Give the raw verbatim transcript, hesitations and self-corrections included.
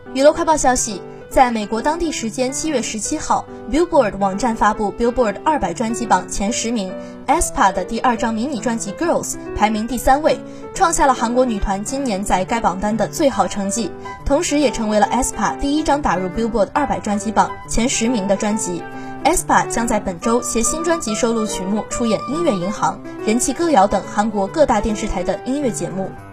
娱乐快报消息，在美国当地时间七月十七号 ，Billboard 网站发布 Billboard 二百专辑榜前十名 aespa 的第二张迷你专辑 Girls 排名第三位，创下了韩国女团今年在该榜单的最好成绩，同时也成为了 aespa 第一张打入 Billboard 二百专辑榜前十名的专辑。aespa 将在本周携新专辑收录曲目出演《音乐银行》《人气歌谣》等韩国各大电视台的音乐节目。